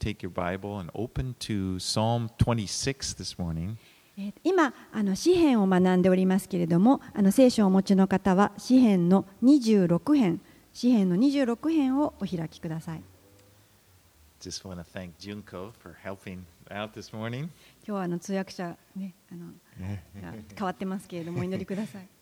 take your Bible and open to Psalm 26 this morning. 今詩編を学んでおりますけれども、聖書をお持ちの方は詩編の26編、詩編の26編をお開きください。 Just want to thank Junko for helping out this morning. 今日は通訳者ね、変わってますけれどもお祈りください。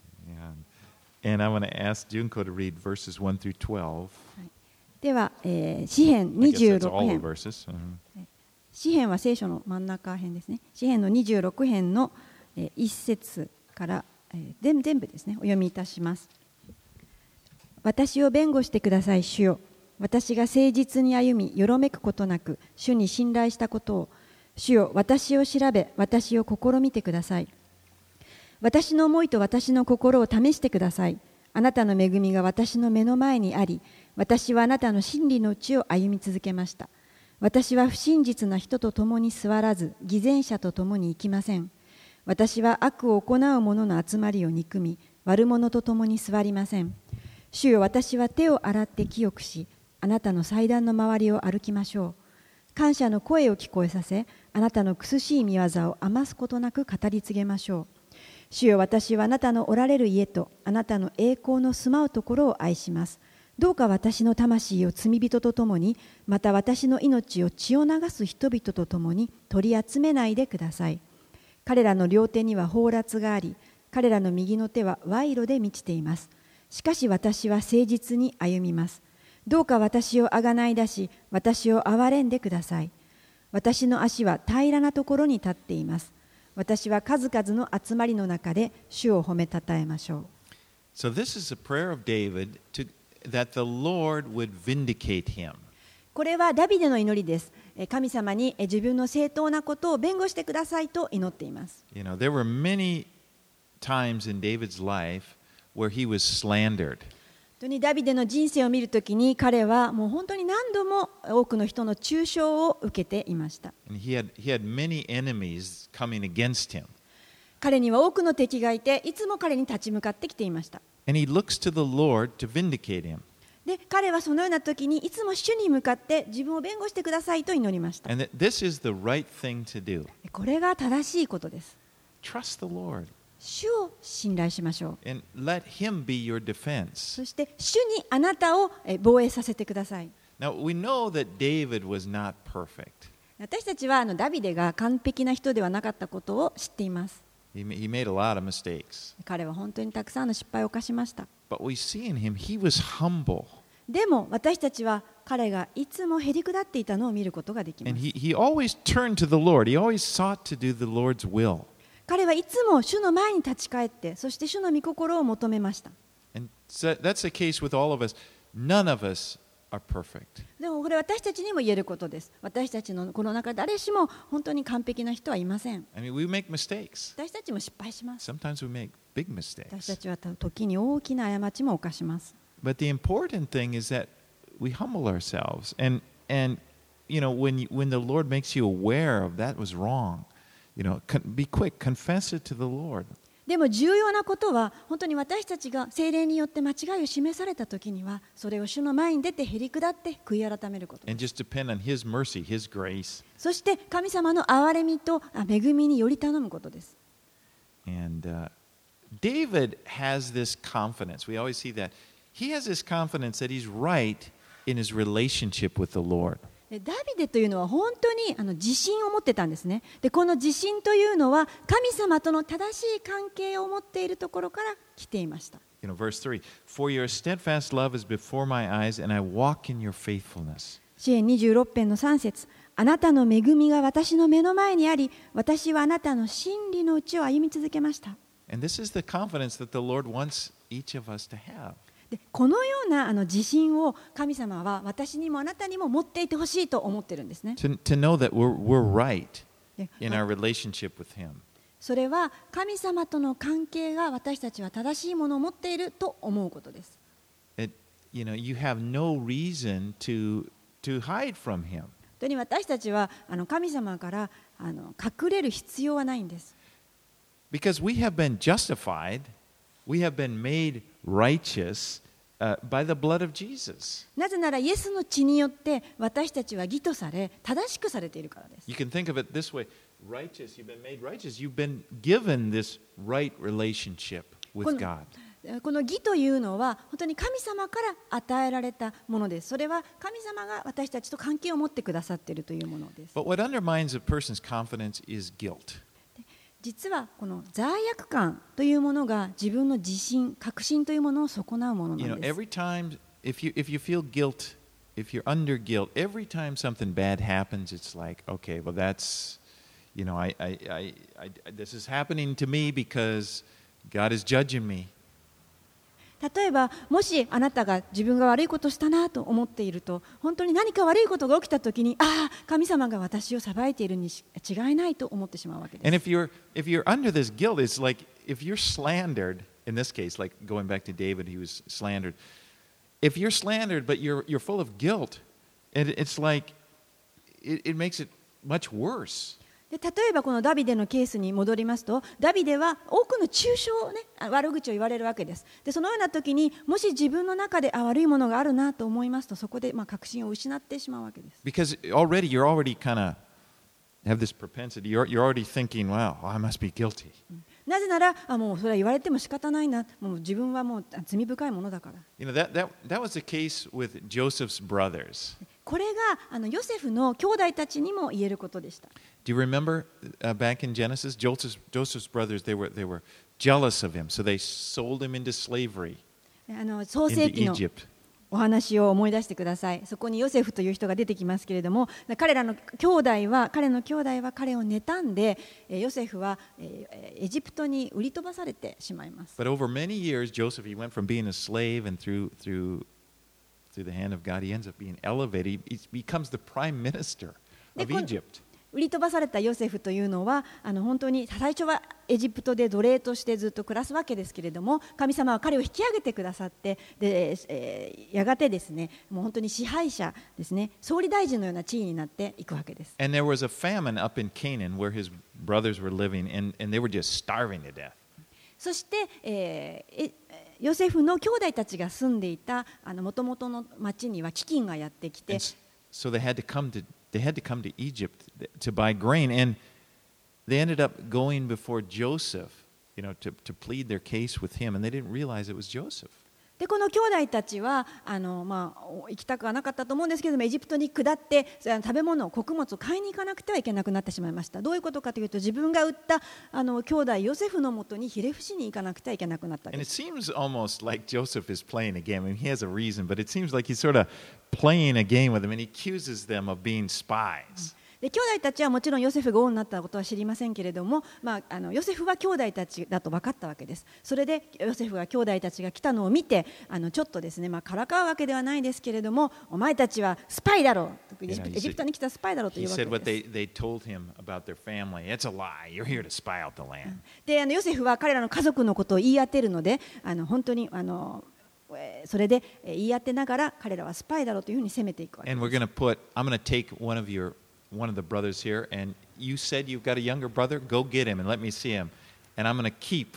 Yeah. And I want to ask Junko to read verses 1 through 12. では、詩編26編。詩編は聖書の真ん中編ですね。詩編の26編の1節から全部ですね、お読みいたします。私を弁護してください、主よ。私が誠実に歩み、よろめくことなく、主に信頼したことを、主よ、私を調べ、私を試みてください。私の思いと私の心を試してください。あなたの恵みが私の目の前にあり、私はあなたの真理のうちを歩み続けました。私は不真実な人と共に座らず、偽善者と共に生きません。私は悪を行う者の集まりを憎み、悪者と共に座りません。主よ、私は手を洗って清くし、あなたの祭壇の周りを歩きましょう。感謝の声を聞こえさせ、あなたの苦しい御業を余すことなく語り継げましょう。主よ、私はあなたのおられる家とあなたの栄光の住まうところを愛します。どうか私の魂を罪人とともに、また私の命を血を流す人々とともに取り集めないでください。彼らの両手には放埓があり、彼らの右の手は賄賂で満ちています。しかし私は誠実に歩みます。どうか私をあがない出し、私を憐れんでください。私の足は平らなところに立っています。私は数々の集まりの中で主を褒めたたえましょう。 So this is a prayer of David that the Lord would vindicate him. これはダビデの祈りです。神様に自分の正当なことを弁護してくださいと祈っています。 You know, there were many times in David's life where he was slandered. 本当にダビデの人生を見るときに彼はもう本当に何度も多くの人の中傷を受けていました。 And he had many enemies coming against him. 彼には多くの敵がいて、いつも彼に立ち向かってきていました。 And he looks to the Lord to vindicate him. で、彼はそのような時にいつも主に向かって自分を弁護してくださいと祈りました。 And this is the right thing to do. これが正しいことです。 Trust the Lord. 主を信頼しましょう。 And let him be your defense. そして主にあなたを防衛させてください。 Now we know that David was not perfect. 私たちはダビデが完璧な人ではなかったことを知っています。 He made a lot of mistakes. 彼は本当にたくさんの失敗を犯しました。 But we see in him, he was humble. でも私たちは彼がいつもへりくだっていたのを見ることができます。 And he always turned to the Lord. He always sought to do the Lord's will. 彼はいつも主の前に立ち返って、そして主の御心を求めました。 And so that's the case with all of us. None of us are perfect. でもこれ私たちにも言えることです。私たちのこの中誰しも本当に完璧な人はいません。 I mean, we make mistakes. 私たちも失敗します。 Sometimes we make big 私た mistakes. ちは時に大きな過ちも犯します。 But the important thing is that we humble ourselves. And you know, when the Lord makes you aware of that was wrong, you know, be quick, confess it to the Lord. でも重要なことは、本当に私たちが聖霊によって間違いを示されたときには、それを主の前に出てへりくだって悔い改めること。 And just depend on His mercy, His grace. そして神様の憐れみと恵みにより頼むことです。 And David has this confidence. We always see that. He has this confidence that he's right in his relationship with the Lord. ダビデというのは本当に自信を持ってたんですね。で、この自信というのは神様との正しい関係を持っているところから来ていました。 You know, verse 3. For your steadfast love is before my eyes, and I walk in your faithfulness. 詩編26編の3節。あなたの恵みが私の目の前にあり、私はあなたの真理のうちを歩み続けました。 And this is the confidence that the Lord wants each of us to have. で、このような自信を神様は私にもあなたにも持っていてほしいと思っているんですね。 To know that we're right in our relationship with Him. それは神様との関係が私たちは正しいものを持っていると思うことです。 You know, you have no reason to hide from Him. 本当に私たちは神様から隠れる必要はないんです。 Because we have been justified, we have been made righteous by the blood of Jesus. なぜならイエスの血によって私たちは義とされ正しくされているからです。 You can think of it this way: righteous, you've been made righteous. You've been given this right relationship with God. この義というのは本当に神様から与えられたものです。それは神様が私たちと関係を持ってくださっているというものです。 But what undermines a person's confidence is guilt. 実はこの罪悪感というものが自分の自信、確信というものを損なうものなんです。 Every time, if you feel guilt, if you're under guilt, every time something bad happens, it's like, okay, well that's, this is happening to me because God is judging me. 例えばもしあなたが自分が悪いことをしたなと思っていると、本当に何か悪いことが起きたときに、ああ神様が私を裁いているに違いないと思ってしまうわけです。 And if you're under this guilt, it's like if you're slandered, in this case, like going back to David, he was slandered. If you're slandered, but you're full of guilt, it's like it makes it much worse. で例えばこのダビデのケースに戻りますと、ダビデは多くの中傷をね、悪口を言われるわけです。でそのような時にもし自分の中で悪いものがあるなと思いますと、そこで確信を失ってしまうわけです。 Because you're already kind of have this propensity. You're already thinking, wow, I must be guilty. なぜならもうそれは言われても仕方ないな、もう自分はもう罪深いものだから。 That was the case with Joseph's brothers. これがヨセフの兄弟たちにも言えることでした。 Do you remember back in Genesis, Joseph's brothers, they were jealous of him, so they sold him into slavery 創世 into 記の Egypt. お話を思い出してください。そこにヨセフという人が出てきますけれども、彼の兄弟は彼を妬んで、ヨセフはエジプトに売り飛ばされてしまいます。 But over many years, Joseph, he went from being a slave and through the hand of God, he ends up being elevated. He becomes the prime minister of Egypt. 売り飛ばされたヨセフというのは本当に最初はエジプトで奴隷としてずっと暮らすわけですけれども、神様は彼を引き上げてくださって、で、やがてですね、もう本当に支配者ですね、総理大臣のような地位になっていくわけです。 And there was a famine up in Canaan where his brothers were living, and they were just starving to death. そして、ヨセフの兄弟たちが住んでいたもともとの町には飢饉がやってきて、 So they had to come to Egypt to buy grain, and they ended up going before Joseph, to plead their case with him, and they didn't realize it was Joseph. でこの兄弟たちは行きたくはなかったと思うんですけれども、エジプトに下って食べ物、穀物を買いに行かなくてはいけなくなってしまいました。どういうことかというと、自分が売った兄弟ヨセフのもとにひれ伏しに行かなくてはいけなくなったん And で it す。 seems almost like Joseph is playing a game. I mean, he has a reason, but it seems like he's sort of playing a game with them, and he accuses them of being spies. で兄弟たちはもちろんヨセフが王になったことは知りませんけれども、ヨセフは兄弟たちだと分かったわけです。それでヨセフが兄弟たちが来たのを見て、ちょっとですね、からかうわけではないですけれども、お前たちはスパイだろう、エジプトに来たスパイだろうという He わけ said what です。 they told him about their family. It's a lie. You're here to spy out the land. でヨセフは彼らの家族のことを言い当てるので、本当にそれで言い当てながら彼らはスパイだろうというふうに責めていくわけ And で we're す。 I'm going to take one of the brothers here, and you said you've got a younger brother. Go get him and let me see him. And I'm going to keep,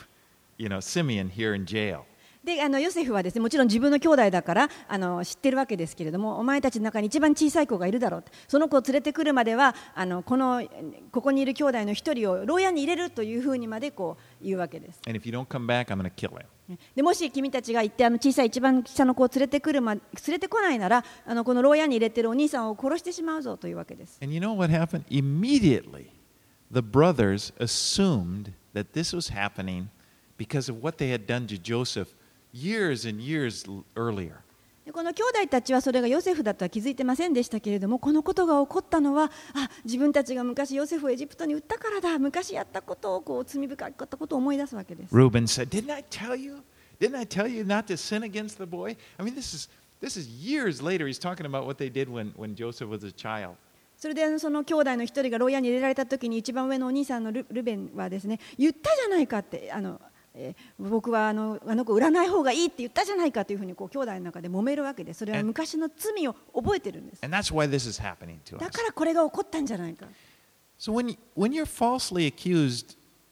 Simeon here in jail. でヨセフはですね、もちろん自分の兄弟だから知ってるわけですけれども、お前たちの中に一番小さい子がいるだろう、その子を連れてくるまではここにいる兄弟の一人を牢屋に入れるというふうにまで言うわけです。 And if you don't come back, I'm going to kill him. でもし君たちが行って小さい一番下の子を連れてこないなら、この牢屋に入れてるお兄さんを殺してしまうぞというわけです。 And you know what happened? Immediately, the brothers assumed that this was happening because of what they had done to Joseph years and years earlier. この兄弟たちはそれがヨセフだとは気づいてませんでしたけれども、このことが起こったのは自分たちが昔ヨセフをエジプトに売ったからだ、昔やったことを罪深かったことを思い出すわけです。 Reuben said, Didn't I tell you not to sin against the boy? I mean, this is years later. He's talking about what they did when Joseph was a child. それでその兄弟の一人が牢屋に入れられた時に、一番上のお兄さんのルベンはですね、言ったじゃないかって、僕はあの子売らない方がいいって言ったじゃないかというふうに兄弟の中で揉めるわけです。それは昔の罪を覚えてるんです。 And that's why this is happening to us. だからこれが起こったんじゃないか。 So when you're falsely accused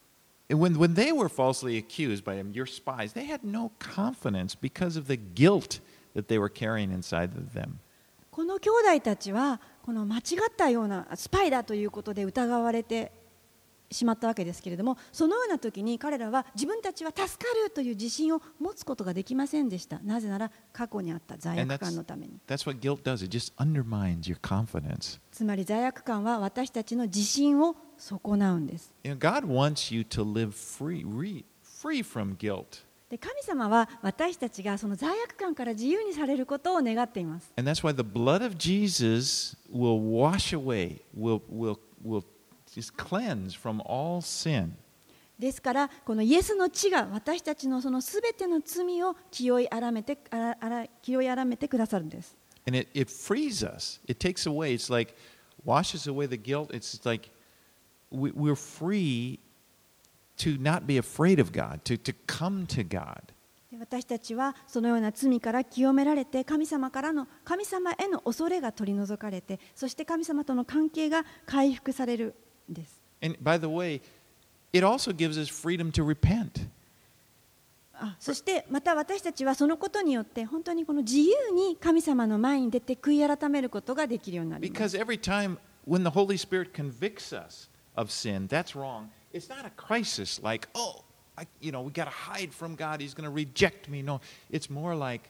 when they were falsely accused by him, your spies, they had no confidence because of the guilt that they were carrying inside of them. この兄弟たちはこの間違ったようなスパイだということで疑われてしまったわけですけれども、そのような時に彼らは自分たちは助かるという自信を持つことができませんでした。なぜなら過去にあった罪悪感のために。 That's what guilt does. It just undermines your confidence. つまり罪悪感は私たちの自信を損なうんです。 God wants you to live free from guilt. で、神様は私たちがその罪悪感から自由にされることを願っています。 And that's why the blood of Jesus will wash away, will just cleanse from all sin. ですからこのイエスの血が私たちのそのすべての罪を清い洗めてくださるんです。 And it frees us. It takes away. It's like washes away the guilt. It's like we're free to not be afraid of God, to come to God. 私たちはそのような罪から清められて神様への恐れが取り除かれて、そして神様との関係が回復されるんです。 And by the way, it also gives us freedom to repent. そしてまた私たちはそのことによって本当にこの自由に神様の前に出て悔い改めることができるようになります。 Because every time when the Holy Spirit convicts us of sin, that's wrong. It's not a crisis like, oh, we got to hide from God. He's going to reject me. No, it's more like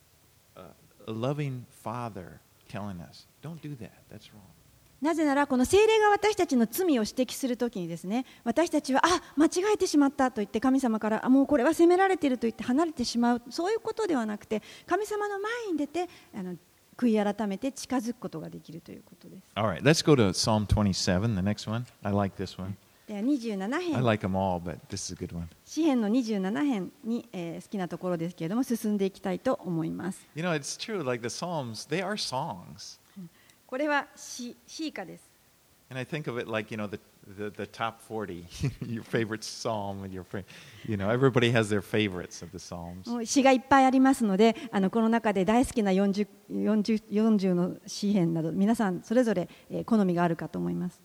a loving Father telling us, don't do that. That's wrong. なぜならこの聖霊が私たちの罪を指摘するときにですね、私たちは間違えてしまったと言って神様からもうこれは責められていると言って離れてしまう、そういうことではなくて神様の前に出て悔い改めて近づくことができるということです。 All right, let's go to Psalm 27, the next one. I like this one. では27編。 I like them all, but this is a good one. 詩編の27編に、好きなところですけれども進んでいきたいと思います。 You know, it's true, like the Psalms, they are songs. これは詩歌です。 And I think of it like, the top 40, your favorite psalm, and everybody has their favorites of the Psalms. 詩がいっぱいありますので、この中で大好きな40の詩編など、皆さんそれぞれ好みがあるかと思います。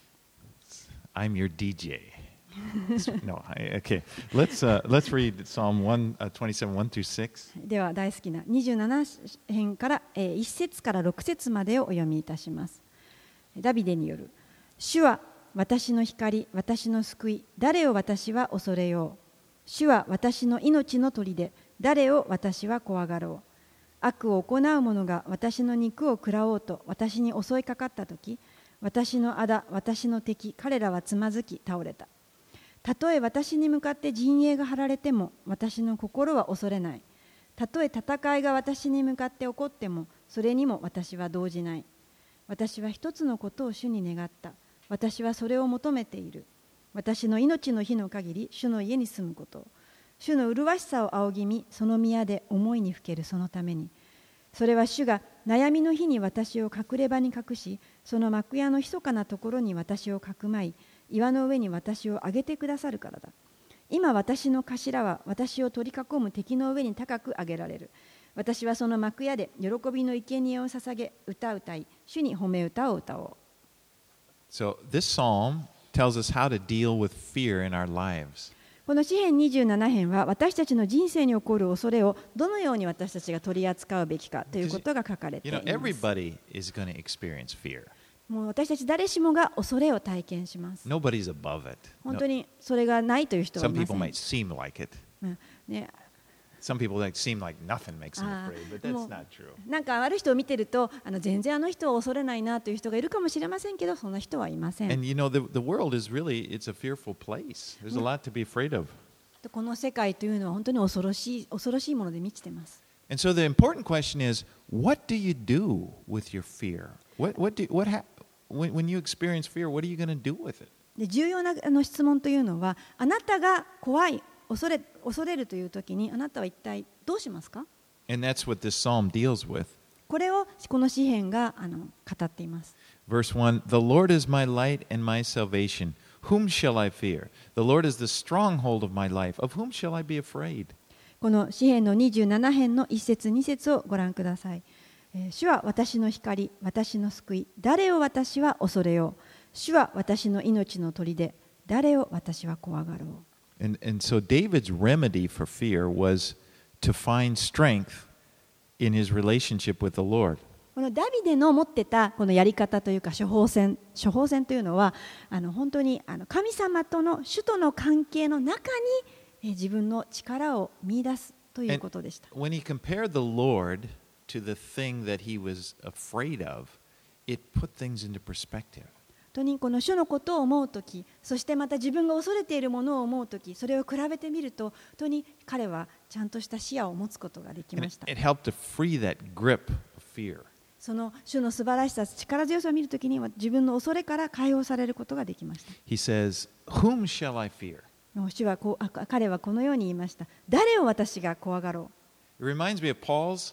I'm your DJ. No, okay. Let's read Psalm 27, 1 through 6. では大好きな27編から1節から6節までをお読みいたします。ダビデによる。主は私の光、私の救い、誰を私は恐れよう。主は私の命の砦、誰を私は怖がろう。悪を行う者が私の肉を食らおうと私に襲いかかったとき、私の仇、私の敵、彼らはつまずき倒れた。たとえ私に向かって陣営が張られても私の心は恐れない。たとえ戦いが私に向かって起こってもそれにも私は動じない。私は一つのことを主に願った。私はそれを求めている。私の命の日の限り主の家に住むこと。主の麗しさを仰ぎ見、その宮で思いにふけるそのために。それは主が悩みの日に私を隠れ場に隠し、その幕屋の密かなところに私をかくまい、岩の上に私を上げてくださるからだ。今私の頭は私を取り囲む敵の上に高く上げられる。私はその幕屋で喜びの生贄を捧げ、歌い、主に褒め歌を歌おう。 So this psalm tells us how to deal with fear in our lives. この詩編27編は私たちの人生に起こる恐れをどのように私たちが取り扱うべきかということが書かれています。 Everybody is going to experience fear. もう私たち誰しもが恐れを体験します。 Nobody's above it. 本当にそれがないという人はいません。 Some people might seem like it. ね、 Some people seem like nothing makes them afraid, but that's not true. なんかある人を見てると全然あの人を恐れないなという人がいるかもしれませんけど、そんな人はいません。 And the world is really, it's a fearful place. There's a lot to be afraid of. この世界というのは本当に恐ろしいもので満ちています。 And so the important question is, what do you do with your fear? When you experience fear, what are you going to do with it? で、重要な質問というのは、あなたが怖い、恐れるというときに、あなたは一体どうしますか？ And that's what this psalm deals with. これをこの詩編が語っています。 Verse 1, The Lord is my light and my salvation. Whom shall I fear? The Lord is the stronghold of my life. Of whom shall I be afraid? この詩編の27編の1節2節をご覧ください。主は私の光、私の救い、誰を私は恐れよう。主は私の命の砦、誰を私は怖がろう。 And so David's remedy for fear was to find strength in his relationship with the Lord. このダビデの持ってたこのやり方というか処方箋というのは本当に神様との主との関係の中に自分の力を見出すということでした。 When he compared the Lord to the thing that he was afraid of, it put things into perspective. 本当にこの主のことを思うとき、そしてまた自分が恐れているものを思うとき、それを比べてみると、本当に彼はちゃんとした視野を持つことができました。 It helped to free that grip of fear. その主の素晴らしさ、力強さを見るときには自分の恐れから解放されることができました。 He says, "Whom shall I fear?" 主は彼はこのように言いました。誰を私が怖がろう。 It reminds me of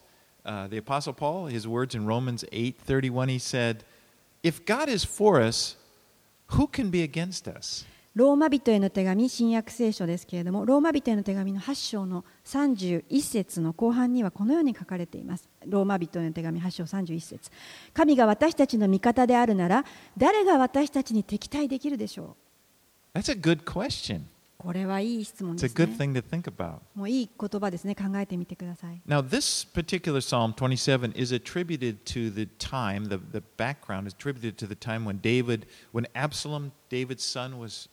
the Apostle Paul, his words in Romans 8:31. He said, "If God is for us, who can be against us?" ローマ人への手紙、新約聖書ですけれども、ローマ人への手紙の8章の31節の後半にはこのように書かれています。ローマ人への手紙8章31節。神が私たちの味方であるなら、誰が私たちに敵対できるでしょう。That's a good question. これはいい質問ですね。 It's a good thing to think about. もういい言葉ですね。考えてみてください。 Now, this particular Psalm 27 is attributed to the time, the background is attributed to the time when Absalom, David's son, was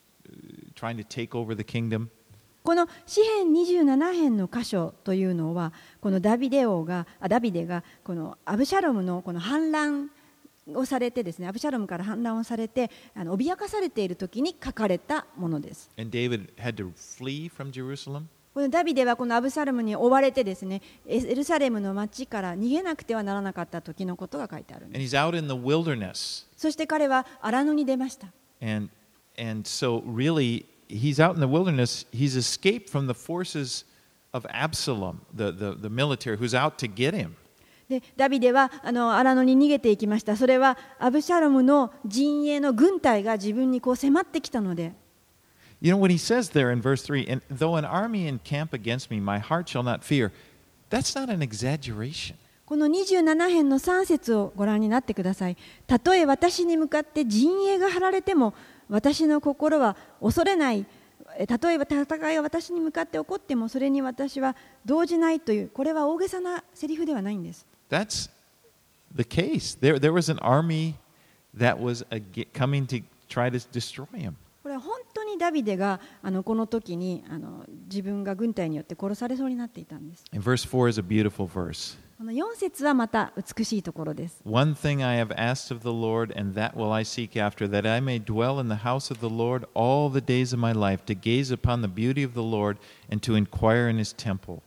trying to take over the kingdom. この詩編27編の箇所というのは、このダビデがこのアブシャロムのこの反乱をされてですね、アブシャロムから反乱をされて脅かされている時に書かれたものです。 And David had to flee from Jerusalem. このダビデはこのアブシャロムに追われてですね、エルサレムの町から逃げなくてはならなかった時のことが書いてあるんです。 And he's out in the wilderness. そして彼は荒野に出ました。 And so really he's out in the wilderness. He's escaped from the forces of Absalom, the military who's out to get him. でダビデは荒野に逃げていきました。それはアブシャロムの陣営の軍隊が自分にこう迫ってきたので。 You know what he says there in verse 3, and though an army encamp against me, my heart shall not fear. That's not an exaggeration. この27編の3節をご覧になってください。たとえ私に向かって陣営が張られても、私の心は恐れない。たとえ戦いが私に向かって起こっても、それに私は動じないという、これは大げさなセリフではないんです。 That's the case. There was an army that was coming to try to destroy him. これは本当にダビデがこの時に自分が軍隊によって殺されそうになっていたんです。 And verse 4 is a beautiful verse. この4節はまた美しいところです。 One thing I have asked of the Lord, and that will I seek after, that I may dwell in the house of the Lord all the days of my life, to gaze upon the beauty of the Lord and to inquire in his temple.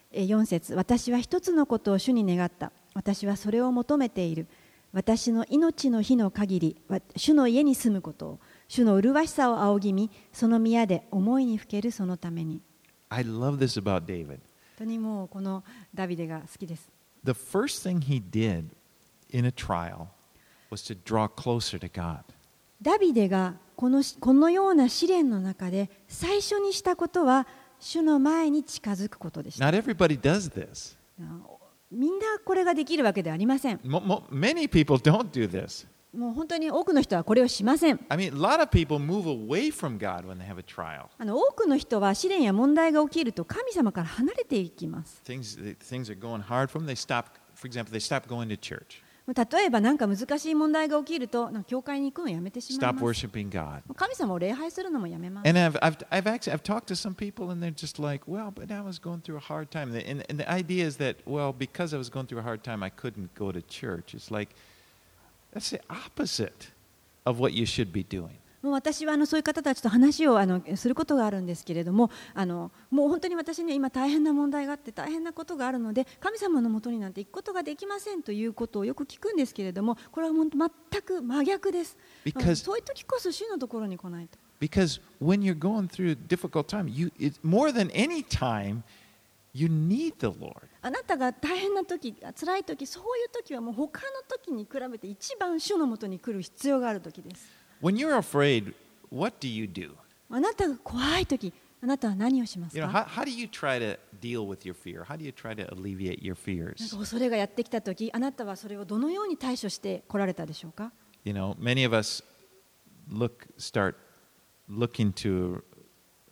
4節、私は一つのことを主に願った。私はそれを求めている。私の命の日の限り、主の家に住むことを、主の麗しさを仰ぎ見、その宮で思いにふけるそのために。 I love this about David. 本当にもうこのダビデが好きです。 The first thing he did in a trial was to draw closer to God. ダビデがこのような試練の中で最初にしたことは、主の前に近づくことでした。 Not everybody does this. みんなこれができるわけではありません。 Many people don't do this. もう本当に多くの人はこれをしません。 I mean, a lot of people move away from God when they have a trial. 多くの人は試練や問題が起きると神様から離れていきます。 Things are going hard for them. They stop, for example, they stop going to church. 例えば何か難しい問題が起きると教会に行くのをやめてしまい Stop ます。 worshiping God. 神様を礼拝するのもやめます。 And I've talked to some people and they're just like, well, but I was going through a hard time. And the idea is that, well, because I was going through a hard time, I couldn't go to church. It's like, that's the opposite of what you should be doing. もう私はそういう方たちと話をすることがあるんですけれども、もう本当に私には今大変な問題があって大変なことがあるので神様のもとになんて行くことができませんということをよく聞くんですけれども、これは全く真逆です。そういう時こそ主のところに来ないと。 Because when you're going through a difficult time, more than any time, you need the Lord. あなたが大変な時、辛い時、そういう時はもう他の時に比べて一番主のもとに来る必要がある時です。 When you're afraid, what do you do? あなたが怖い時、あなたは何をしますか？ how do you try to deal with your fear? How do you try to alleviate your fears? なんか恐れがやってきた時、あなたはそれをどのように対処して来られたでしょうか？ Many of us start looking to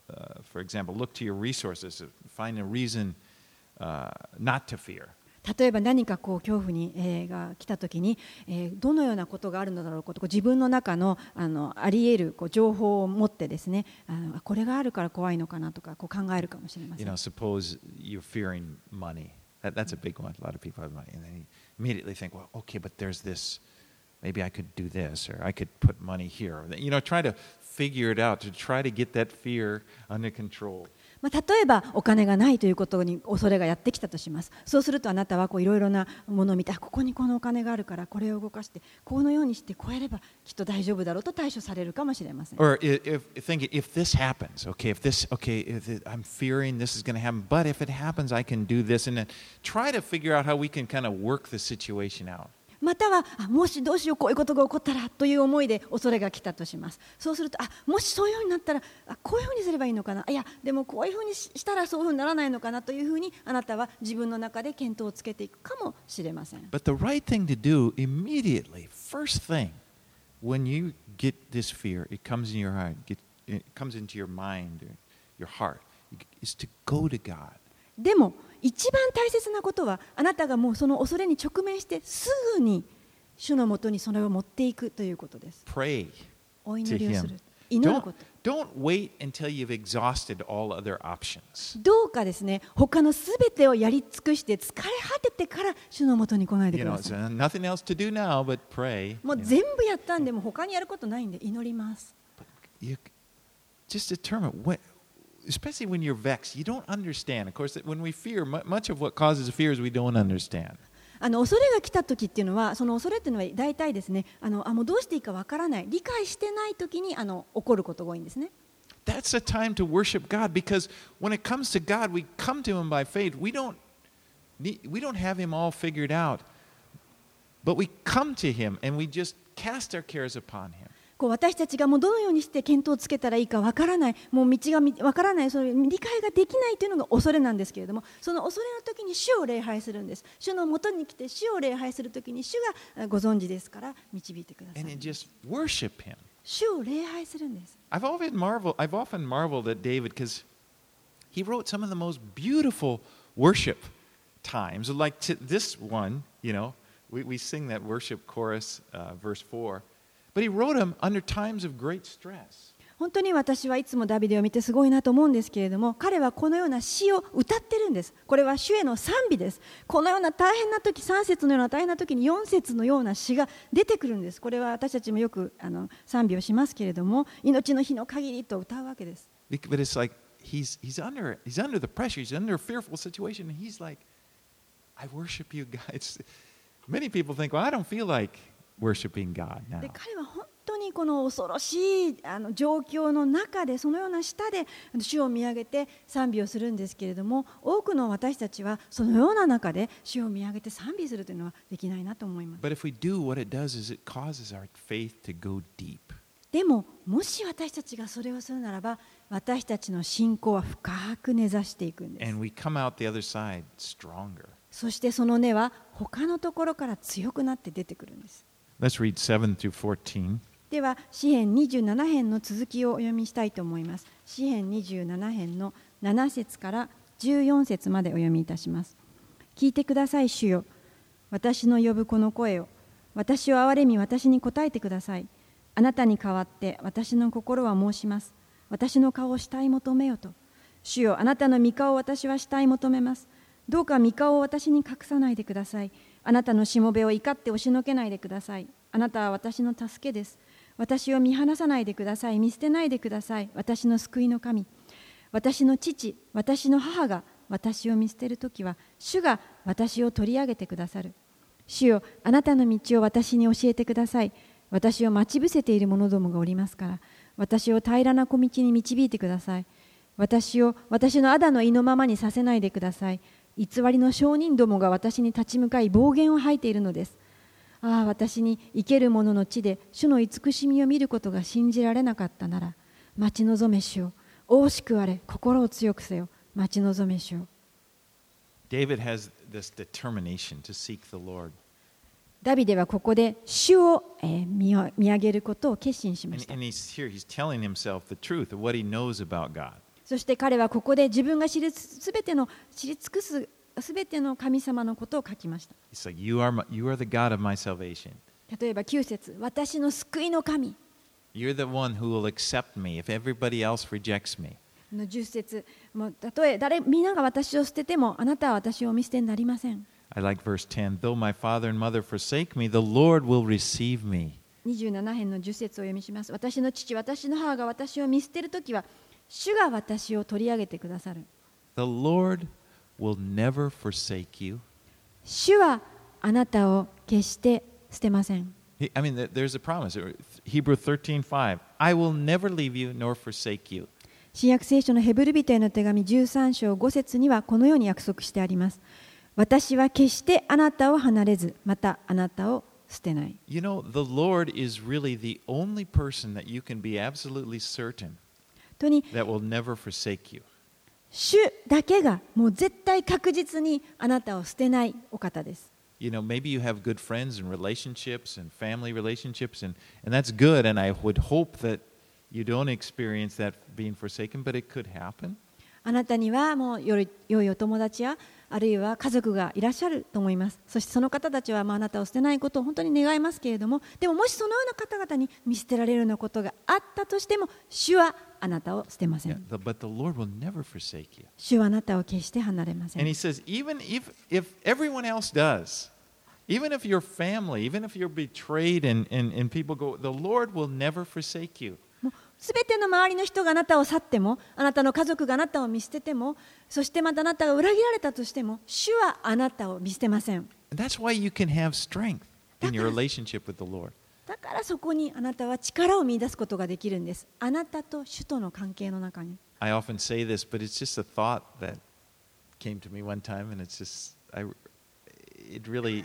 for example, look to your resources, find a reason not to fear. 例えば何かこう恐怖に、が来たときに、どのようなことがあるのだろうかと自分の中の、あり得るこう情報を持ってですね、これがあるから怖いのかなとかこう考えるかもしれません。 Suppose you're fearing money. That's a big one. A lot of people have money, and they immediately think, well, okay, but there's this. Maybe I could do this, or I could put money here. Try to figure it out to try to get that fear under control. 例えばお金がないということに恐れがやってきたとします。そうするとあなたはこういろいろなものを見て、ここにこのお金があるからこれを動かしてこのようにしてこうやればきっと大丈夫だろうと対処されるかもしれません。 Or if this happens, if I'm fearing this is going to happen, but if it happens, I can do this, and then try to figure out how we can kind of work the situation out. またはもしどうしようこういうことが起こったらという思いで恐れが来たとします。そうするともしそういうふうになったらこういうふうにすればいいのかな、いやでもこういうふうにしたらそういうふうにならないのかなというふうにあなたは自分の中で見当をつけていくかもしれません。 But the right thing to do immediately, first thing, when you get this fear, it comes in your heart, it comes into your mind, your heart, is to go to God. でも一番大切なことはあなたがもうその恐れに直面してすぐに主のもとにそれを持っていくということです。 Pray お祈りをする。祈ること。 Don't wait until you've exhausted all other options. どうかですね、他のすべてをやり尽くして疲れ果ててから主のもとに来ないでください。 Nothing else to do now but pray. もう全部やったんでもう他にやることないんで祈ります。 Just determine what.Especially when you're vexed, you don't understand. Of course, when we fear, much of what causes fear is we don't understand. 恐れが来た時っていうのは、その恐れっていうのは大体ですね、もうどうしていいかわからない、理解してない時に起こることが多いんですね。 That's a time to worship God because when it comes to God, we come to Him by faith. We don't have Him all figured out, but we come to Him and we just cast our cares upon Him. 私たちがもうどのようにして見当をつけたらいいかわからない、もう道がわからない、それ理解ができないというのが恐れなんですけれども、その恐れの時に主を礼拝するんです。主のもとに来て主を礼拝する時に主がご存知ですから導いてください。 And just worship Him. 主を礼拝するんです。 I've often marveled at David because he wrote some of the most beautiful worship times, like this one. We sing that worship chorus, verse 4.But he wrote them under times of great stress. 本当に私はいつもダビデを見てすごいなと思うんですけれども、彼はこのような詩を歌ってるんです。これは主への賛美です。このような大変な時、3節のような大変な時に4節のような詩が出てくるんです。これは私たちもよく賛美をしますけれども、命の日の限りと歌うわけです。 But it's like he's under the pressure, he's under a fearful situation, and he's like, I worship you, God. Many people think, well, I don't feel like.Worshiping God now. で彼は本当にこの恐ろしい状況の中でそのような下で主を見上げて賛美をするんですけれども、多くの私たちはそのような中で主を見上げて賛美するというのはできないなと思います。 But if we do, what it does is it causes our faith to go deep. でももし私たちがそれをするならば、私たちの信仰は深く根ざしていくんです。 And we come out the other side stronger. そしてその根は他のところから強くなって出てくるんです。 Let's read 7 through 14. では詩編27編の続きをお読みしたいと思います。詩編27編の7節から14節までお読みいたします。聞いてください主よ、私の呼ぶこの声を、私を憐れみ私に答えてください。あなたに代わって私の心は申します。私の顔を慕い求めよと。主よ、あなたの御顔を私は慕い求めます。どうか御顔を私に隠さないでください。あなたのしもべを怒って押しのけないでください。あなたは私の助けです。私を見放さないでください。見捨てないでください。私の救いの神。私の父、私の母が私を見捨てるときは、主が私を取り上げてくださる。主よ、あなたの道を私に教えてください。私を待ち伏せている者どもがおりますから、私を平らな小道に導いてください。私を私の仇の意のままにさせないでください。偽りの証人どもが私に立ち向かい暴言を吐いているのです。ああ、私に生ける者の地で主の慈しみを見ることが信じられなかったなら、待ち望め主よ、惜しくあれ、心を強くせよ、待ち望め主よ。 David has this determination to seek the Lord. ダビデはここで主を見上げることを決心しました。 And he's telling himself the truth of what he knows about God. そして彼はここで自分が知り尽くすすべての神様のことを書きました。 It's like, you are the God of my salvation. 例えば9節、私の救いの神。 You're the one who will accept me if everybody else rejects me. 10節、たとえ皆が私を捨てても、あなたは私を見捨てになりません。 I like verse 10. Though my father and mother forsake me, the Lord will receive me. 27編の10節を読みします。私の父、私の母が私を見捨てるときは、主が私を取り上げてくださる。 The Lord will never forsake you. 主はあなたを決して捨てません。 I mean, there's a promise. Hebrew 13:5. I will never leave you nor forsake you. 新約聖書のヘブル人への手紙13章5節にはこのように約束してあります。私は決してあなたを離れず、またあなたを捨てない。 You know, the Lord is really the only person that you can be absolutely certain that will never forsake you. 主だけがもう絶対確実にあなたを捨てないお方です。 You know, maybe you have good friends and relationships and family relationships, and that's good, and I would hope that you don't experience that being forsaken, but it could happen. あなたにはもう良いお友達やあるいは家族がいらっしゃると思います。そしてその方たちはあなたを捨てないことを本当に願いますけれども、でももしそのような方々に見捨てられるようなことがあったとしても、主はあなたを捨てません。 But the Lord will never forsake you. 主はあなたを決して離れません。 And He says, even if everyone else does, even if your family, even if you're betrayed and people go, the Lord will never forsake you. すべての周りの人があなたを去っても、あなたの家族があなたを見捨てても、そしてまたあなたが裏切られたとしても、主はあなたを見捨てません。 That's why you can have strength in your relationship with the Lord. だからそこにあなたは力を見出すことができるんです。あなたと主との関係の中に。 I often say this, but it's just a thought that came to me one time, and it's just, it really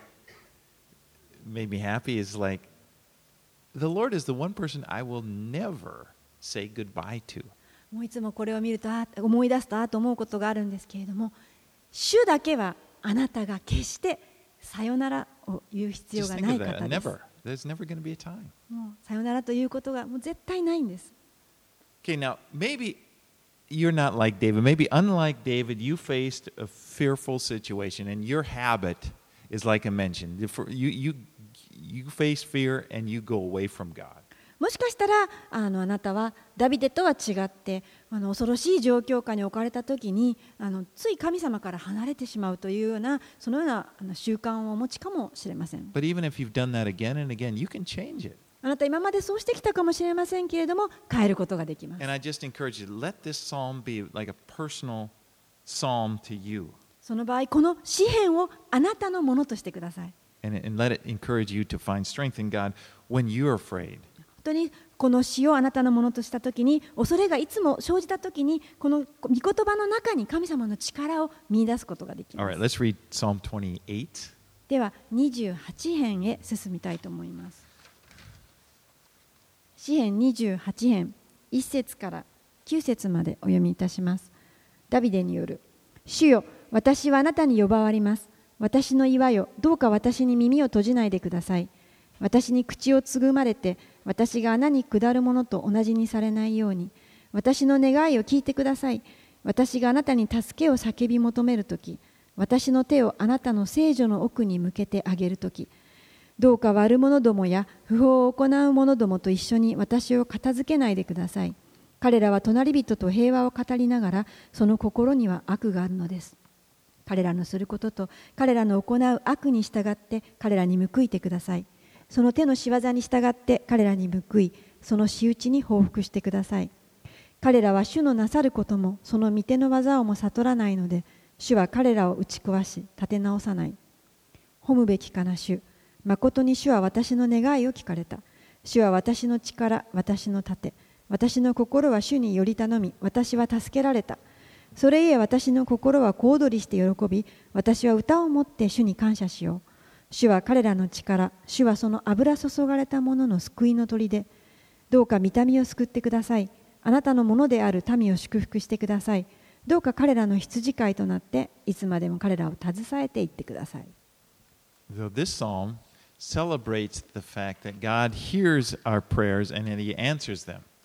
made me happy. Is like, the Lord is the one person I will never say goodbye to. もういつもこれを見ると思い出すと思うことがあるんですけれども、主だけはあなたが決してさよならを言う必要がない方です。 There's never going to be a time. もうさよならということがもう絶対ないんです。 Okay, now maybe you're not like David. Maybe unlike David, you faced a fearful situation, and your habit is like I mentioned. You face fear and you go away from God. もしかしたらあなたはダビデとは違って恐ろしい状況下に置かれたときについ神様から離れてしまうというようなそのような習慣をお持ちかもしれません。 But even if you've done that again and again, you can change it. あなた今までそうしてきたかもしれませんけれども変えることができます。 And I just encourage you, let this psalm be like a personal psalm to you. その場合この詩篇をあなたのものとしてください。 And let it encourage you to find strength in God when you're afraid. 本当にこの詩をあなたのものとしたときに恐れがいつも生じたときにこの御言葉の中に神様の力を見出すことができます。 All right, let's read Psalm 28. では28編へ進みたいと思います。詩編28編1節から9節までお読みいたします。ダビデによる。主よ、私はあなたに呼ばわります。私の岩よ、どうか私に耳を閉じないでください。私に口をつぐまれて、私が穴に下るものと同じにされないように、私の願いを聞いてください。私があなたに助けを叫び求めるとき、私の手をあなたの聖所の奥に向けてあげるとき、どうか悪者どもや不法を行う者どもと一緒に私を片付けないでください。彼らは隣人と平和を語りながら、その心には悪があるのです。彼らのすることと彼らの行う悪に従って彼らに報いてください。その手の仕業に従って彼らに報い、その仕打ちに報復してください。彼らは主のなさることもその御手の技をも悟らないので、主は彼らを打ち壊し立て直さない。褒むべきかな主。まことに主は私の願いを聞かれた。主は私の力、私の盾。私の心は主により頼み、私は助けられた。それゆえ私の心は小躍りして喜び、私は歌をもって主に感謝しよう。主は彼らの力、主はその油注がれた者の救いの砦。どうか御民を救ってください。あなたのものである民を祝福してください。どうか彼らの羊飼いとなって、いつまでも彼らを携えていってください。 So this psalm celebrates the fact that God hears our prayers and that He answers them.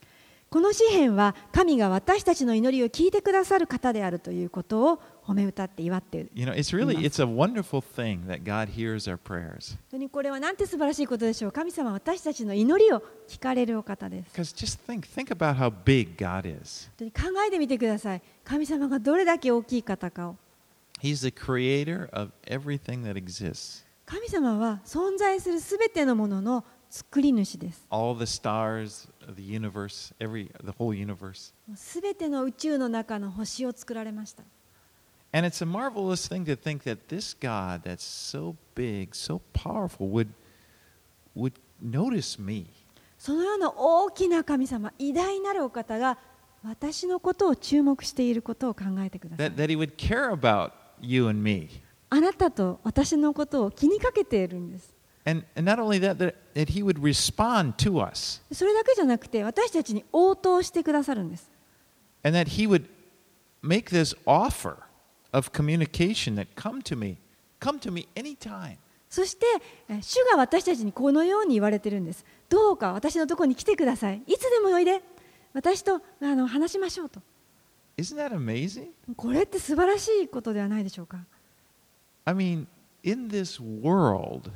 この詩篇は神が私たちの祈りを聞いてくださる方であるということを褒め歌って祝っている。 It's a wonderful thing that God hears our prayers. 本当にこれはなんて素晴らしいことでしょう。神様は私たちの祈りを聞かれるお方です。 Because just think about how big God is. 本当に考えてみてください。神様がどれだけ大きい方かを。 He's the creator of everything that exists. 神様は存在するすべてのものの作り主です。 All the stars of the universe, the whole universe. すべての宇宙の中の星を作られました。 And it's a marvelous thing to think that this God that's so big, so powerful would notice me. そのような大きな神様、偉大なるお方が私のことを注目していることを考えてください。 That he would care about you and me. あなたと私のことを気にかけているんです。 And not only that he would respond to us. それだけじゃなくて私たちに応答してくださるんです。 And that he would make this offer of communication that come to me anytime. そして主が私たちにこのように言われているんです。どうか私のところに来てください。いつでもおいで。私と話しましょうと。 Isn't that amazing? これって素晴らしいことではないでしょうか。 I mean, in this world,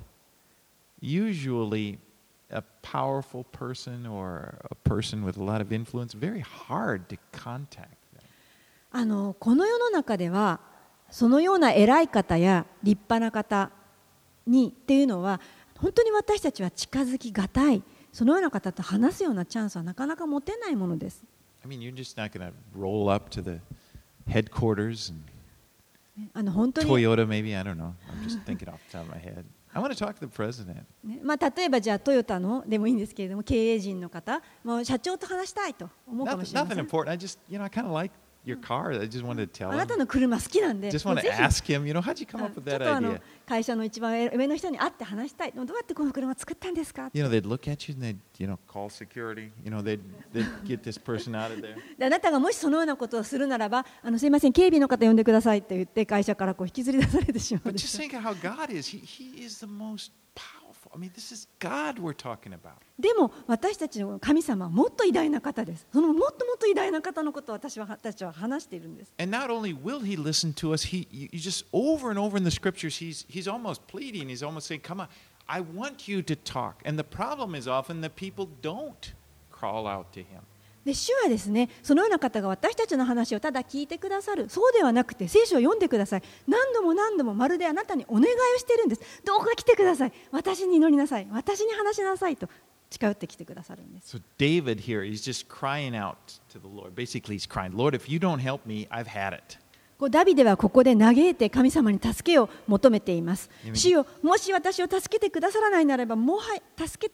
usually a powerful person or a person with a lot of influence, very hard to contact them. この世の中ではそのような偉い方や立派な方にっていうのは本当に私たちは近づきがたい。そのような方と話すようなチャンスはなかなか持てないものです。 I mean, you're just not going to roll up to the headquarters and 本当に Toyota, maybe, I don't know. I'm just thinking off the top of my head. I want to talk to the president. 例えばじゃあトヨタのでもいいんですけれども経営陣の方、もう社長と話したいと思うかもしれません。 Nothing important. I kind of like your car. I just wanted to tell あなた him. の車好きなんで、 Just want to ask him, how'd you come up with ちょっ that と idea? 会社の一番上の人に会って話したい。どうやってこの車作ったんですか？ They'd look at you and they'd, call security. They'd get this person out of there. であなたがもしそのようなことをするならば、すいません、警備の方呼んでくださいって言って会社から引きずり出されてしまう But で just す。 think of how God is. He is the most powerful. I mean, this is God we're talking about. でも私たちの神様はもっと偉大な方です。そのもっともっと偉大な方のことを私たちは話しているんです。 And not only will he listen to us, you just over and over in the scriptures, he's almost pleading. He's almost saying, "Come on, I want you to talk." And the problem is often that people don't crawl out to him. で主はですね、そのような方が私たちの話をただ聞いてくださる、そうではなくて聖書を読んでください。何度も何度もまるであなたにお願いをしているんです。どうか来てください。私に祈りなさい。私に話しなさいと近寄ってきてくださるんです。 So David here, he's just crying out to the Lord. Basically, he's crying, "Lord, if you don't help me, I've had it." ダビデはここで嘆いて神様に助けを求めています。主よ、もし私を助けてくださらないならば、もは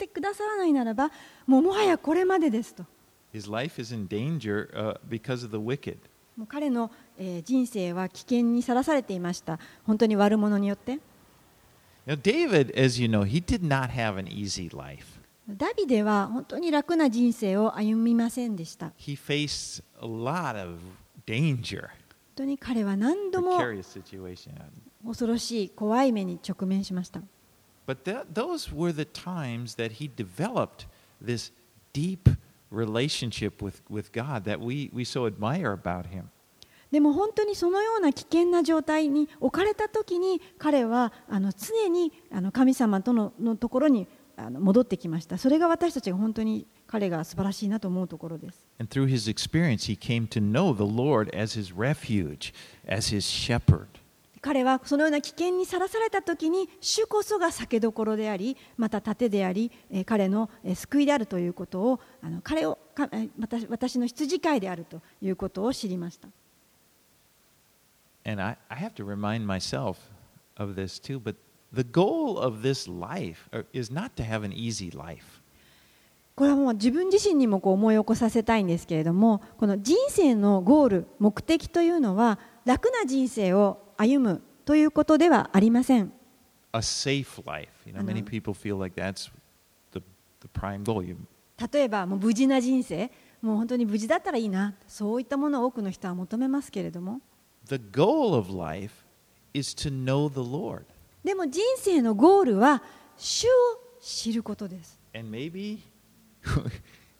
やこれまでですと。 His life is in danger because of the wicked. もう彼の人生は危険にさらされていました。本当に悪者によって。 Now, David, as you know, he did not have an easy life. ダビデは本当に楽な人生を歩みませんでした。 He faced a lot of danger, 本当に彼は何度も precarious situation. 恐ろしい怖い目に直面しました。 But those were the times that he developed this deep relationship with God that we so admire about him. でも本当にそのような危険な状態に置かれたときに彼は常に神様とのところに戻ってきました。それが私たちが本当に彼が素晴らしいなと思うところです。 And through his experience, he came to know the Lord as his refuge, as his shepherd. 彼はそのような危険にさらされたときに主こそが酒どころであり、また盾であり、彼の救いであるということを私の羊飼いであるということを知りました。 And I have to remind myself of this too, but the goal of this life is not to have an easy life. これはもう自分自身にも思い起こさせたいんですけれども、この人生のゴール、目的というのは楽な人生を歩むということではありません。 A safe life. Many people feel like that's the prime goal. 例えばもう無事な人生、もう本当に無事だったらいいな、そういったものを多くの人は求めますけれども。 The goal of life is to know the Lord. でも人生のゴールは主を知ることです。 And maybe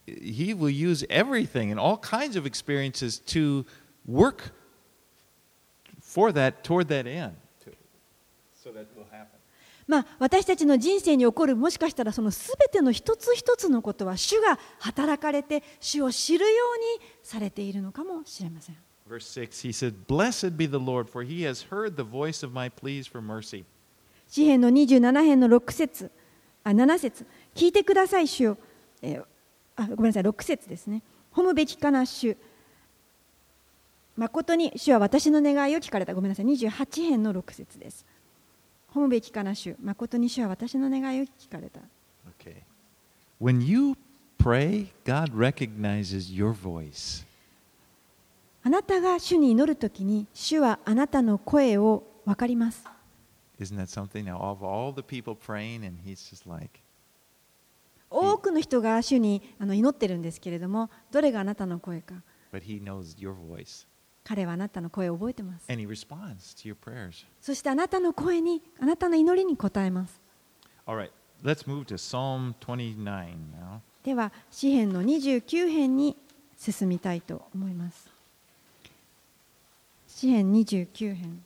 He will use everything and all kinds of experiences to work for that, toward that end, so that will happen. 私たちの人生に起こるもしかしたらそのすべての一つ一つのことは主が働かれて主を知るようにされているのかもしれません。 Verse 6, he said, Blessed be the Lord, for he has heard the voice of my pleas for mercy. 詩編の27編の7節、聞いてください主よ、ごめんなさい、6節ですね。褒むべきかな主、誠に主は私の願いを聞かれた。ごめんなさい、28編の6節です。褒むべきかな主、誠に主は私の願いを聞かれた。 Okay. When you pray, God recognizes your voice. あなたが主に祈るときに、主はあなたの声を分かります。 Isn't that something? Now, of all the people praying, and he's just like, 多くの人が主に祈ってるんですけれども、どれがあなたの声か。 but he knows your voice. 彼はあなたの声を覚えてます。 And he responds to your prayers. そしてあなたの声に、あなたの祈りに応えます。 All right, let's move to Psalm 29 now. では、詩編の29編に進みたいと思います。詩編29編。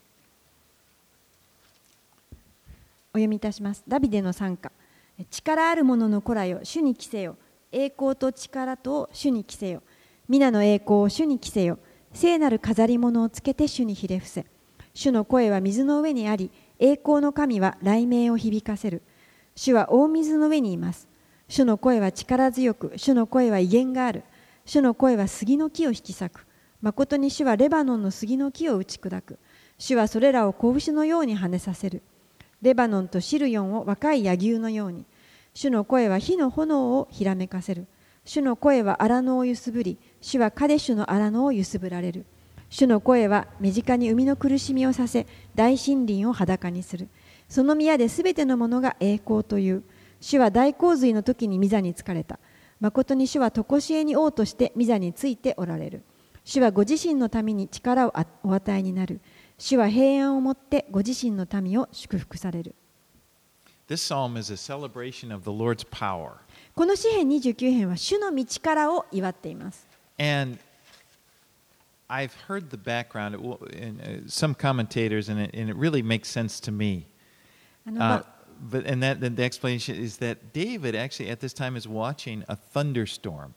お読みいたします。ダビデの賛歌。力ある者の子らよ、主に着せよ。栄光と力と主に着せよ。皆の栄光を主に着せよ。聖なる飾り物をつけて主にひれ伏せ。主の声は水の上にあり、栄光の神は雷鳴を響かせる。主は大水の上にいます。主の声は力強く、主の声は威厳がある。主の声は杉の木を引き裂く。誠に主はレバノンの杉の木を打ち砕く。主はそれらを子牛のように跳ねさせる。レバノンとシルヨンを若い柳生のように。主の声は火の炎をひらめかせる。主の声は荒野を揺すぶり、主はカデシュの荒野を揺すぶられる。主の声は目近に海の苦しみをさせ、大森林を裸にする。その宮ですべてのものが栄光という。主は大洪水の時に御座につかれた。誠に主は常しえに王として御座についておられる。主はご自身のために力をお与えになる。主は平安をもってご自身の民を祝福される。 This psalm is a celebration of the Lord's power. この詩編29編は主の道からを祝っています。 And I've heard the background in some commentators, and it really makes sense to me. But and that the explanation is that David actually at this time is watching a thunderstorm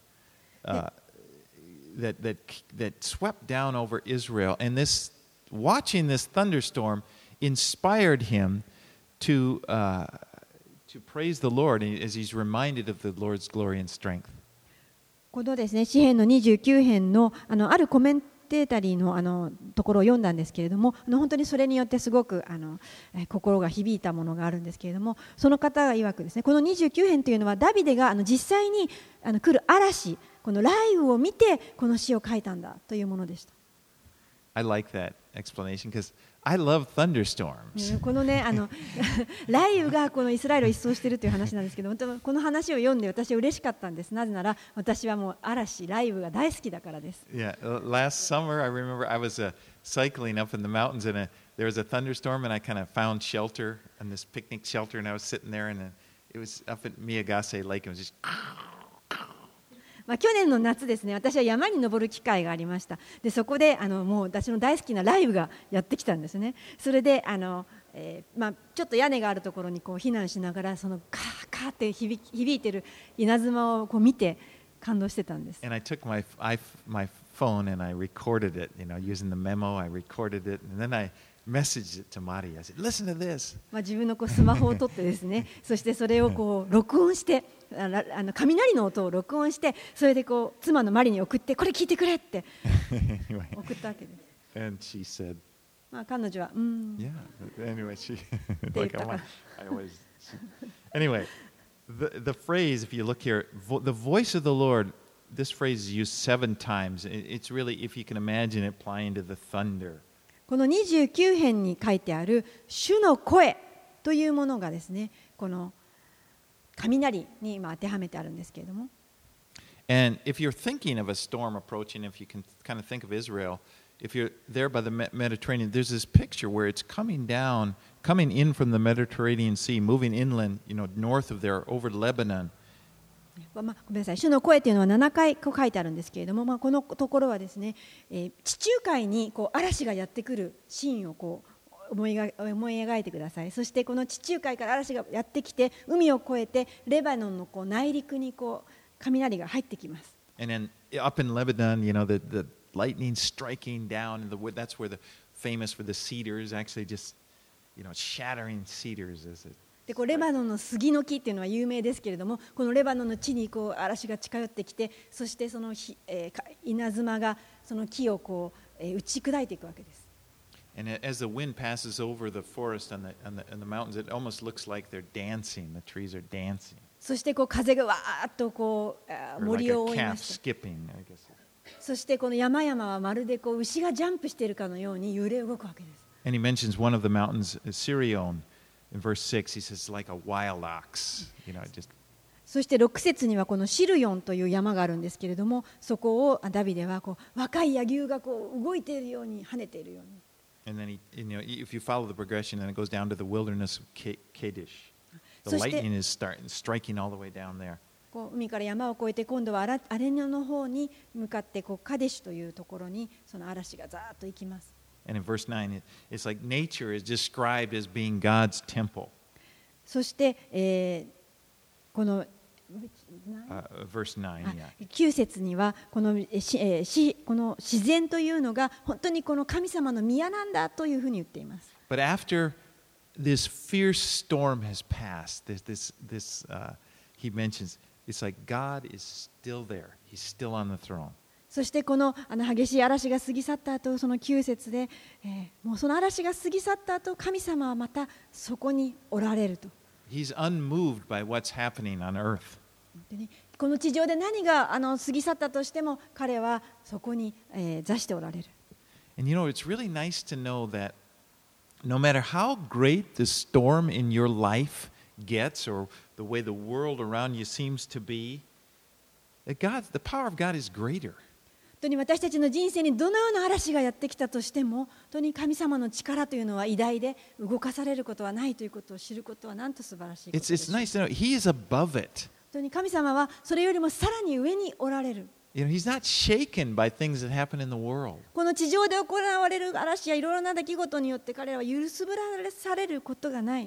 that swept down over Israel, and watching this thunderstorm inspired him to praise the Lord as he's reminded of the Lord's glory and strength. このですね、詩編の29編のあるコメンテータリーのところを読んだんですけれども、本当にそれによってすごく心が響いたものがあるんですけれども、その方が曰くですね、この29編というのはダビデが実際に来る嵐、この雷雨を見てこの詩を書いたんだというものでした。 I like that explanation because I love thunderstorms. このね、雷雨がこのイスラエルを一掃しているという話なんですけど、この話を読んで私は嬉しかったんです。なぜなら私はもう嵐、雷雨が大好きだからです。 Yeah, last summer I remember I was cycling up in the mountains and there was a thunderstorm and I kind of found shelter in this picnic shelter and I was sitting there and it was up at Miyagase Lake and it was just 去年の夏ですね、私は山に登る機会がありました。でそこでもう私の大好きな雷雨がやってきたんですね。それでちょっと屋根があるところにこう避難しながらそのカーカーって響いてる稲妻をこう見て感動してたんです。 And I took my phone and I recorded it, using the memo. I recorded it and then I messaged it to Mari. I said, "Listen to this." 自分のスマホを取ってですね、そしてそれをこう録音して。雷の音を録音して、それでこう妻のマリに送って、これ聞いてくれって送ったわけです。 And she said, 彼女は Yeah. Anyway, she like I always. Anyway, the phrase, if you look here, the voice of the Lord. This phrase is used 7 times. It's really, if you can imagine it, applying to the thunder. この29編に書いてある主の声というものがですね、この雷に今当てはめてあるんですけれども。 And if you're thinking of a storm approaching, if you can kind of think of Israel, if you're there by the Mediterranean, there's this picture where it's coming in from the Mediterranean Sea, moving inland, north of there, over Lebanon. ごめんなさい、主の声というのは7回こう書いてあるんですけれども、このところはですね、地中海にこう嵐がやってくるシーンをこう思い描いてください。そしてこの地中海から嵐がやってきて、海を越えてレバノンのこう内陸にこう雷が入ってきます。 And then up in Lebanon, the lightning striking down in the wood. That's where the famous for the cedars, actually just, shattering cedars is it. でこうレバノンの杉の木っていうのは有名ですけれども、このレバノンの地にこう嵐が近寄ってきて、そしてその稲妻がその木をこう打ち砕いていくわけです。 And as the wind passes over the forest and the mountains, it almost looks like they're dancing. The trees are dancing. そしてこう風がわーっとこう森を覆いました。そしてこの山々はまるでこう牛がジャンプしているかのように揺れ動くわけです。 And he mentions one of the mountains, Sirion. In verse 6, he says, like a wild ox. そして6節にはこのシルヨンという山があるんですけれども、そこをダビデはこう若い野牛がこう動いているように跳ねているように。 And then if you follow the progression, then it goes down to the wilderness of Kadesh. The lightning is striking all the way down there. こう海から山を越えて今度はアレニョの方に向かってこうカデシュというところにその嵐がざーっと行きます。 And in verse 9, it's like nature is described as being God's temple. そして、この verse 9, 9節にはこの自然というのが本当にこの神様の宮なんだというふうに言っています。 But after this fierce storm has passed, he mentions, it's like God is still there. He's still on the throne. そしてこの激しい嵐が過ぎ去った後、その9節で、もうその嵐が過ぎ去った後、神様はまたそこにおられると。 He's unmoved by what's happening on earth. この地上で何が過ぎ去ったとしても、彼はそこに、座しておられる。 And it's really nice to know that no matter how great the storm in your life gets, or the way the world around you seems to be, the power of God is greater. 本当に私たちの人生にどのような嵐がやってきたとしても、本当に神様の力というのは偉大で、動かされることはないということを知ることはなんと素晴らしいことでしょう。 It's nice to know He is above it. 本当に神様はそれよりもさらに上におられる。 He's not shaken by things that happen in the world. この地上で行われる嵐やいろいろな出来事によって彼らは揺すぶらされることがない。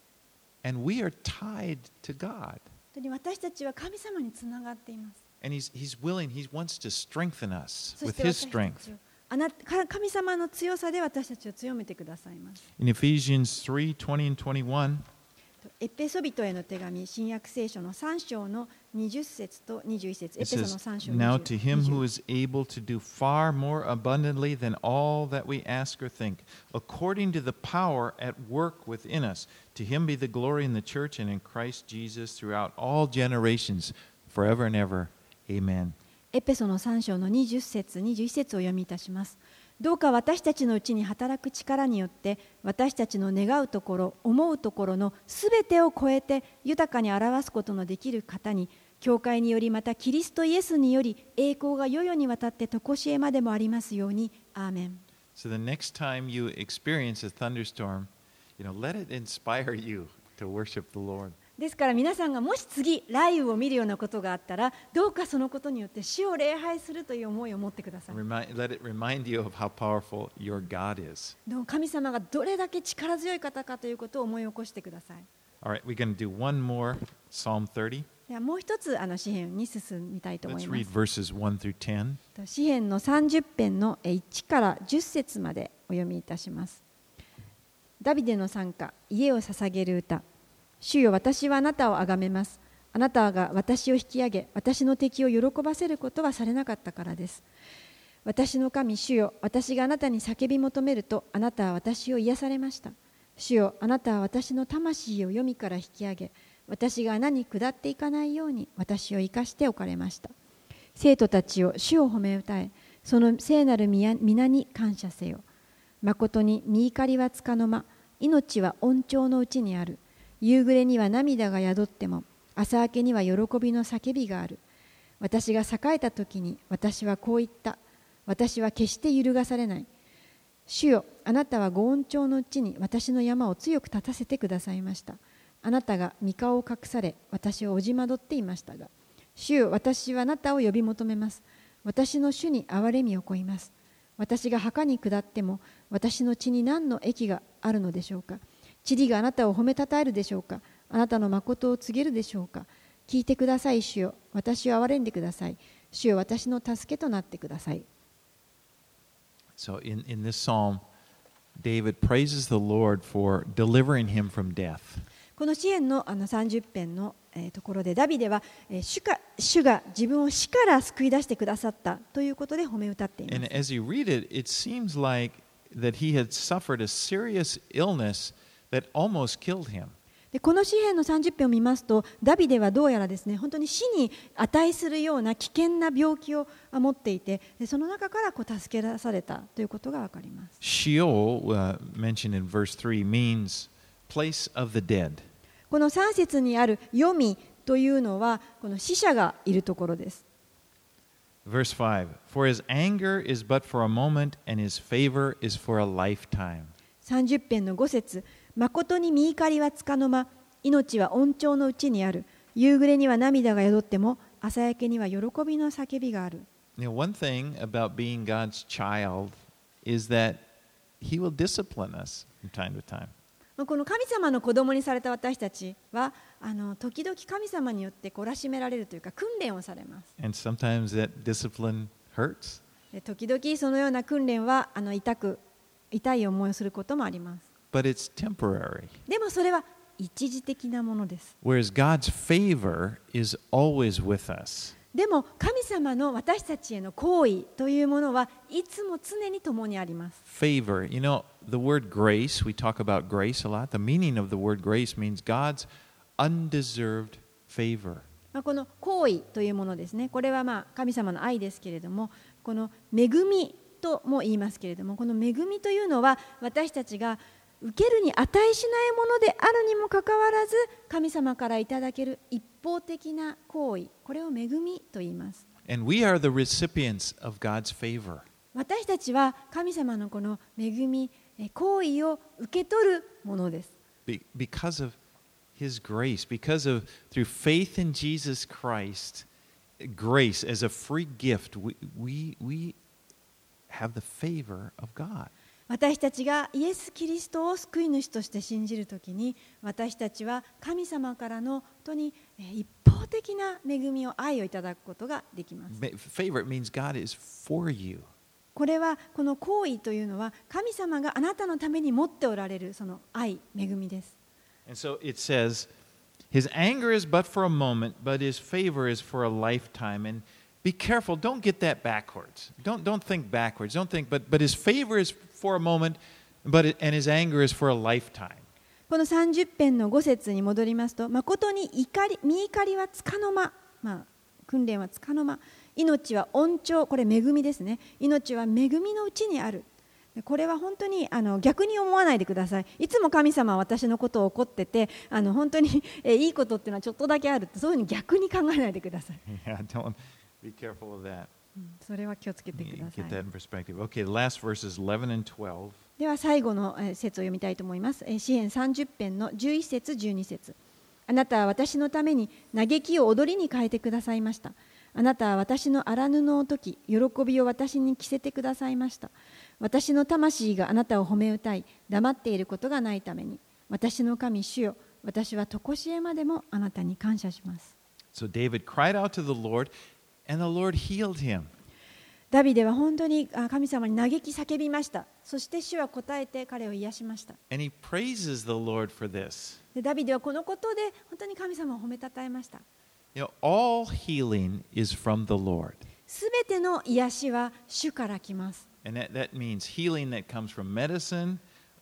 And we are tied to God. 本当に私たちは神様につながっています。 And He's willing, He wants to strengthen us with His strength. 神様の強さで私たちを強めてくださいます。 In Ephesians 3:20 and 21, エペソビトへの手紙、新約聖書の3章の20節と21節、エペソの3章 Now to Him who 20 is able to do far more abundantly than all that we ask or think, according to the power at work within us, to Him be the glory in the church and in Christ Jesus throughout all generations, forever and ever. Amen. エペソの3章の20節、21節を読みいたします。どうか私たちのうちに働く力によって私たちの願うところ、思うところのすべてを超えて豊かに表すことのできる方に、教会によりまたキリストイエスにより栄光が世々にわたって常しえまでもありますように。アーメン。 So the next time you experience a thunderstorm, let it inspire you to worship the Lord. ですから皆さんがもし次雷雨を見るようなことがあったら、どうかそのことによって主を礼拝するという思いを持ってください。 Let it remind you of how powerful your God is. 神様がどれだけ力強い方かということを思い起こしてください。 All right, we're going to do one more Psalm 30. ではもう一つ詩編に進みたいと思い Let's ま read す。 verses 1 through 10. 詩編の30編の1から10節までお読みいたします。ダビデの賛歌、家を捧げる歌。主よ、私はあなたをあがめます。あなたが私を引き上げ、私の敵を喜ばせることはされなかったからです。私の神、主よ、私があなたに叫び求めると、あなたは私を癒されました。主よ、あなたは私の魂を黄泉から引き上げ、私が穴に下っていかないように私を生かしておかれました。生徒たちを主を褒め歌え、その聖なる皆に感謝せよ。まことに身怒りはつかの間、命は恩寵のうちにある。夕暮れには涙が宿っても、朝明けには喜びの叫びがある。私が栄えた時に私はこう言った。私は決して揺るがされない。主よ、あなたはご恩寵のうちに私の山を強く立たせてくださいました。あなたが御顔を隠され、私をおじまどっていましたが、 主よ、私はあなたを呼び求めます。私の主に憐れみを請います。私が墓に下っても、私の血に何の益があるのでしょうか。塵があなたを褒めたたえるでしょうか。あなたの誠を告げるでしょうか。聞いてください、主よ。私を憐れんでください。主よ、私の助けとなってください。 So in this psalm, David praises the Lord for delivering him from death. この詩篇の30編のところでダビデは主が自分を死から救い出してくださったということで褒め歌っています。 And as you read it, it seems like that he had suffered a serious illness that almost killed him. でこの詩篇の30編を見ますと、ダビデはどうやらですね、本当に死に値するような危険な病気を持っていて、その中から助け出されたということがわかります。 Sheol, mentioned in verse 3, means place of the dead. この3節にある黄泉というのは、この死者がいるところです。 Verse 5, for his anger is but for a moment, and his favor is for a lifetime. 30編の5節、誠に見怒りはつかの間、命は恩寵のうちにある。夕暮れには涙が宿っても、朝焼けには喜びの叫びがある。 One thing about being God's child is that He will discipline us from time to time. この神様の子供にされた私たちは、時々神様によって懲らしめられるというか、訓練をされます。 And sometimes that discipline hurts. 時々そのような訓練は痛い思いをすることもあります。 But it's temporary. でもそれは一時的なものです。 Whereas God's favor is always with us. でも神様の私たちへの行為というものはいつも常に共にあります。 Favor. You know, the word grace, we talk about grace a lot. The meaning of the word grace means God's undeserved favor. この行為というものですね。これは神様の愛ですけれども、この恵みとも言いますけれども、この恵みというのは私たちが受けるに値しないものであるにもかかわらず、神様からいただける一方的な行為、これを恵みと言います。 And we are the recipients of God's favor. 私たちは神様のこの恵み、行為を受け取るものです。 Because of His grace, because of through faith in Jesus Christ, grace as a free gift, we have the favor of God. 私たちがイエス・キリストを救い主として信じるときに、私たちは神様からの本当に一方的な恵みを、愛をいただくことができます。 Favor means God is for you. これはこの行為というのは神様があなたのために持っておられるその愛、恵みです。 And so it says, His anger is but for a moment, but His favor is for a lifetime. And be careful, don't get that backwards. Don't think backwards. Don't think, but His favor is for a moment, and His anger is for a lifetime. この30編の5節に戻りますと、誠に見怒りはつかの間、訓練はつかの間、命は恩寵、これ恵みですね。命は恵みのうちにある。これは本当に逆に思わないでください。いつも神様は私のことを怒ってて、本当にいいことっていうのはちょっとだけあるって、そういうふうに逆に考えないでください。 Yeah, don't be careful of that. それは気をつけてください。 Get that in perspective. Okay, the last verses 11 and 12. では最後の節を読みたいと思います。詩編30編の11節12節。あなたは私のために嘆きを踊りに変えてくださいました。あなたは私の荒布を解き、喜びを私に着せてくださいました。私の魂があなたを褒め歌い、黙っていることがないために、私の神主よ、私は常しえまでもあなたに感謝します。 So David cried out to the Lord, and the Lord healed him. ダビデは本当に神様に嘆き叫びました。そして主は答えて彼を癒しました。 And he praises the Lord for this. でダビデはこのことで本当に神様を褒めたたえました。 You know, all healing is from the Lord. すべての癒しは主から来ます。 And that means healing that comes from medicine,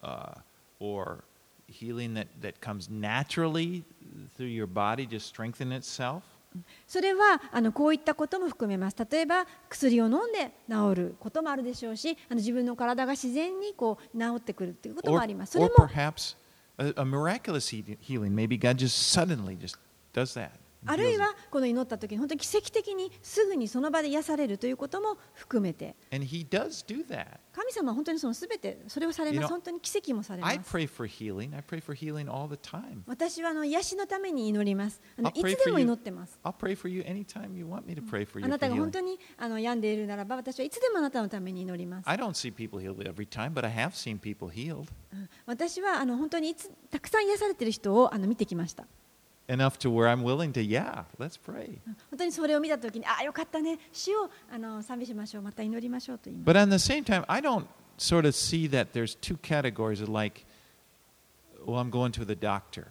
or healing that comes naturally through your body, just strengthen itself. それはこういったことも含めます。例えば薬を飲んで治ることもあるでしょうし、自分の体が自然に治ってくるということもあります。それ Or も perhaps a miraculous healing. Maybe God just suddenly just does that. あるいはこの祈った時に本当に奇跡的にすぐにその場で癒されるということも含めて、 And He does do that. 神様は本当にそのすべてそれをされます。本当に奇跡もされます。 I pray for healing. I pray for healing all the time. 私は癒しのために祈ります。いつでも祈ってます。 I'll pray for you anytime you want me to pray for you. あなたが本当に病んでいるならば、私はいつでもあなたのために祈ります。 I don't see people healed every time, but I have seen people healed. 私は本当にたくさん癒されている人を見てきました。 Enough to where I'm willing to, yeah, let's pray. 本当にそれを見たときに、よかったね、主を賛美しましょう、また祈りましょうと言います。 But at the same time, I don't sort of see that there's two categories of like, well, I'm going to the doctor.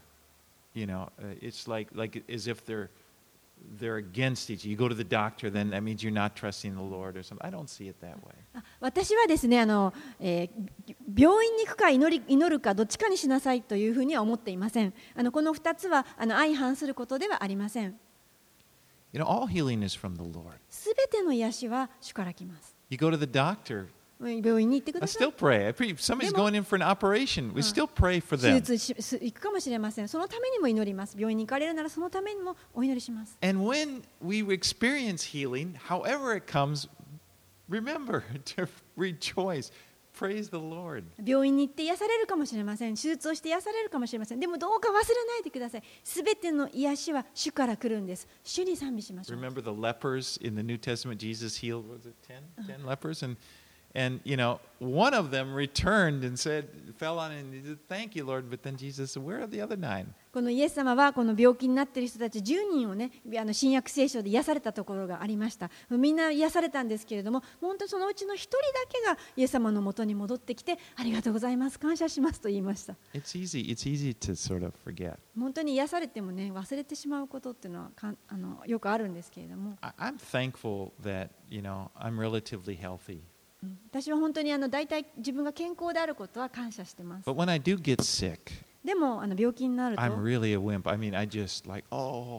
It's like as if they're against each other. You go to the doctor, then that means you're not trusting the Lord or something. I don't see it that way. 私はですね、病院に行くか祈るかどっちかにしなさいというふうには思っていません。この2つは相反することではありません。 All healing is from the Lord. すべての癒しは主から来ます。 You go to the doctor. 病院に行ってください。 I still pray. If somebody's going in for an operation, we still pray for them. 手術行くかもしれません。そのためにも祈ります。病院に行かれるならそのためにもお祈りします。 And when we experience healing, however it comes, remember to rejoice. Praise the Lord. 病院に行って癒されるかもしれません。手術をして癒されるかもしれません。でもどうか忘れないでください。すべての癒しは主から来るんです。主に賛美しましょう。 Remember the lepers in the New Testament? Jesus healed, was it 10 lepers? And one of them returned and fell on and said, "Thank you, Lord." But then Jesus said, "Where are the other 9?" このイエス様はこの病気になっている人たち10人をね、新約聖書で癒されたところがありました。みんな癒されたんですけれども、本当にそのうちの1人だけがイエス様のもとに戻ってきて、ありがとうございます、感謝しますと言いました。 It's easy to sort of forget. 本当に癒されてもね、忘れてしまうことっていうのはよくあるんですけれども。 I'm thankful that I'm relatively healthy. 私は本当に大体自分が健康であることは感謝してます。 But when I do get sick, でも病気になると I'm really a wimp. I mean, I just like,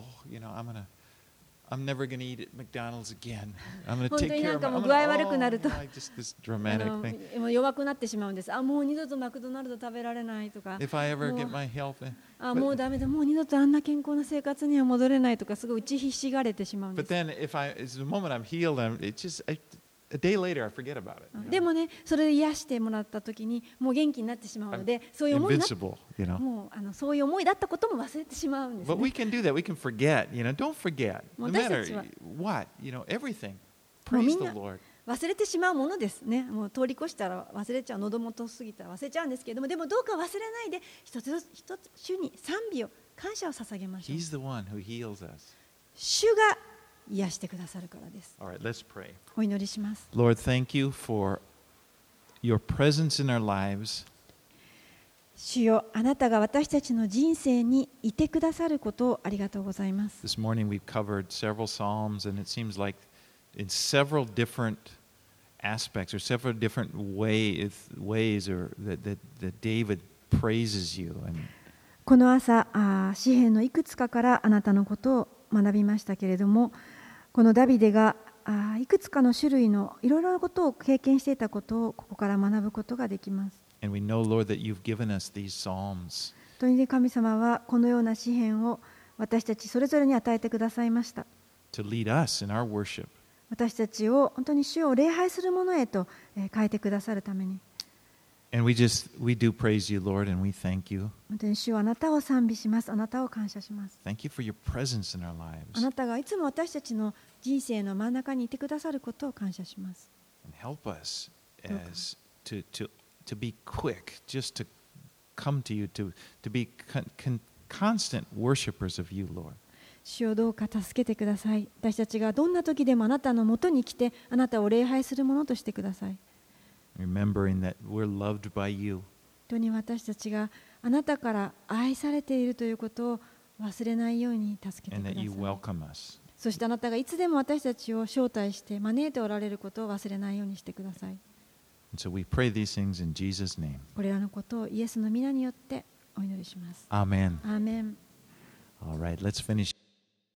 I'm never going to eat at McDonald's again. I'm going to take care of my. 具合悪くなると just this dramatic thing. 弱くなってしまうんです。もう二度とマクドナルド食べられないとか。 If I ever get my health, もうダメだ、もう二度とあんな健康な生活には戻れないとか、すごい打ちひしがれてしまうんです。 But then, the moment I'm healed, it's just.A day later, I forget about it. でもね、それで癒してもらったときに、もう元気になってしまうので、そういう思いもうそういう思いだったことも忘れてしまうんです、ね。 But we can do that. We can forget. Don't forget. No matter what, everything. Praise the Lord. 忘れてしまうものですね。もう通り越したら忘れちゃう、喉元過ぎたら忘れちゃうんですけれども、でもどうか忘れないで一つ一つ主に賛美を感謝を捧げましょう。 He's the one who heals us. 主が癒してくださるからです。 All right, let's pray. お祈りします。 Lord, thank you for your presence in our lives. 主よ、あなたが私たちの人生にいてくださることをありがとうございます。 This morning we've covered several psalms, and it seems like in several different aspects or several different ways or that David praises you. この朝、詩篇のいくつかからあなたのことを学びましたけれども、このダビデがいくつかの種類のいろいろなことを経験していたことをここから学ぶことができます。 And we know, Lord, that you've given us these psalms. とに神様はこのような詩篇を私たちそれぞれに与えてくださいました。 To lead us in our worship. 私たちを本当に主を礼拝するものへと変えてくださるために。 And we do praise you, Lord, and we thank you. 本当に主はあなたを賛美します。あなたを感謝します。 Thank you for your presence in our lives. あなたがいつも私たちの人生の真ん中にいてくださることを感謝します。 And help us to be quick, just to come to you, to be constant worshipers of you, Lord. 主をどうか助けてください。私たちがどんな時でもあなたのもとに来て、あなたを礼拝するものとしてください。 Remembering that we're loved by you. 本当に私たちがあなたから愛されているということを忘れないように助けてください。 And that you welcome us. そしてあなたがいつでも私たちを招待して招いておられることを忘れないようにしてください。 And so we pray these things in Jesus' name. これらのことをイエスの皆によってお祈りします。 Amen. Amen. All right, let's finish.